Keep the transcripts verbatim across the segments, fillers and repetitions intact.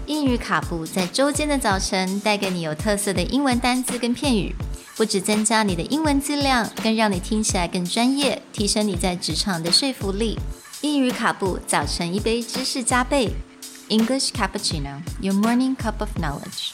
英语卡布在周间的早晨带给你有特色的英文单字跟片语，不只增加你的英文质量，更让你听起来更专业，提升你在职场的说服力。英语卡布早晨一杯知识加倍 English Cappuccino, your morning cup of knowledge.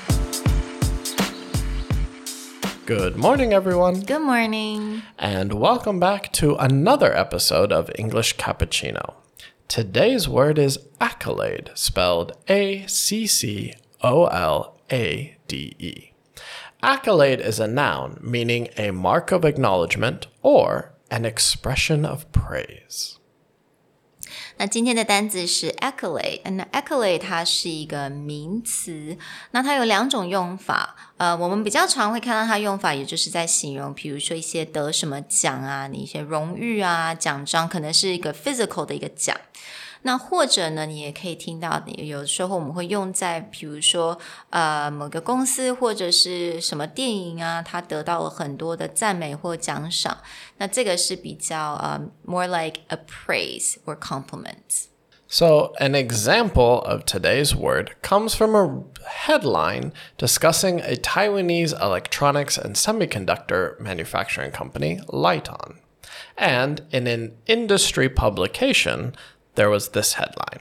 Good morning, everyone. Good morning. And welcome back to another episode of English Cappuccino. Today's word is accolade, spelled A C C O L A D E. Accolade is a noun meaning a mark of acknowledgement or an expression of praise. 那今天的单字是 accolade， 那 accolade 它是一个名词，那它有两种用法，呃，我们比较常会看到它用法，也就是在形容，比如说一些得什么奖啊，你一些荣誉啊，奖章，可能是一个 physical 的一个奖。那或者呢，你也可以听到，有时候我们会用在，比如说，呃，某个公司或者是什么电影啊，它得到了很多的赞美或奖赏。那这个是比较，呃 more like a praise or compliment. So, an example of today's word comes from a headline discussing a Taiwanese electronics and semiconductor manufacturing company, Lite-On. And in an industry publication, there was this headline.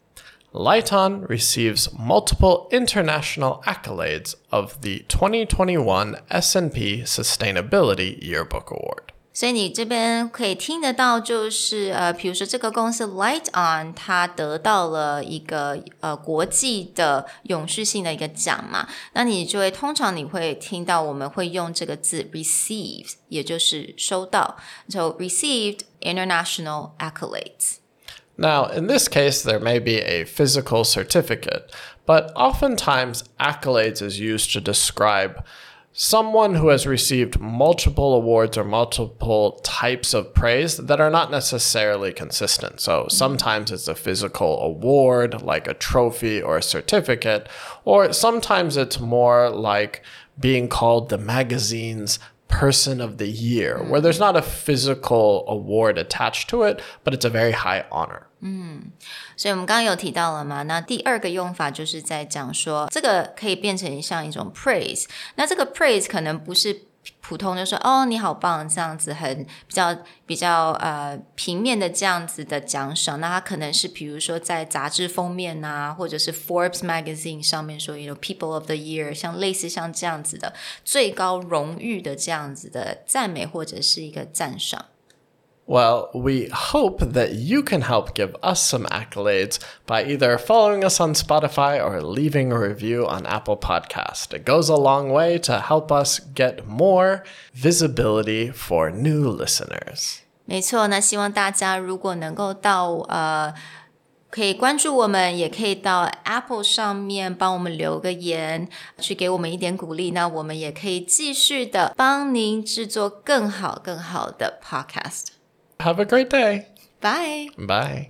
Lite-On receives multiple international accolades of the twenty twenty-one S and P Sustainability Yearbook Award. 所以你这边可以听得到，就是呃，比如说这个公司 Lite-On 它得到了一个呃国际的永续性的一个奖嘛，那你就会通常你会听到我们会用这个字 received， 也就是收到 ，so received international accolades.Now, in this case, there may be a physical certificate, but oftentimes accolades is used to describe someone who has received multiple awards or multiple types of praise that are not necessarily consistent. So sometimes it's a physical award, like a trophy or a certificate, or sometimes it's more like being called the magazine's Person of the Year, where there's not a physical award attached to it, but it's a very high honor. 嗯，所以我们刚刚有提到了嘛，那第二个用法就是在讲说，这个可以变成像一种 praise， 那这个 praise 可能不是普通就说哦你好棒这样子很比较比较呃平面的这样子的奖赏，那它可能是比如说在杂志封面啊，或者是 Forbes magazine 上面说 you know people of the year， 像类似像这样子的最高荣誉的这样子的赞美或者是一个赞赏。 Well, we hope that you can help give us some accolades by either following us on Spotify or leaving a review on Apple Podcast. It goes a long way to help us get more visibility for new listeners. 没错，那希望大家如果能够到呃可以关注我们，也可以到 Apple 上面帮我们留个言，去给我们一点鼓励，那我们也可以继续的帮您制作更好更好的 podcast. Have a great day. Bye. Bye.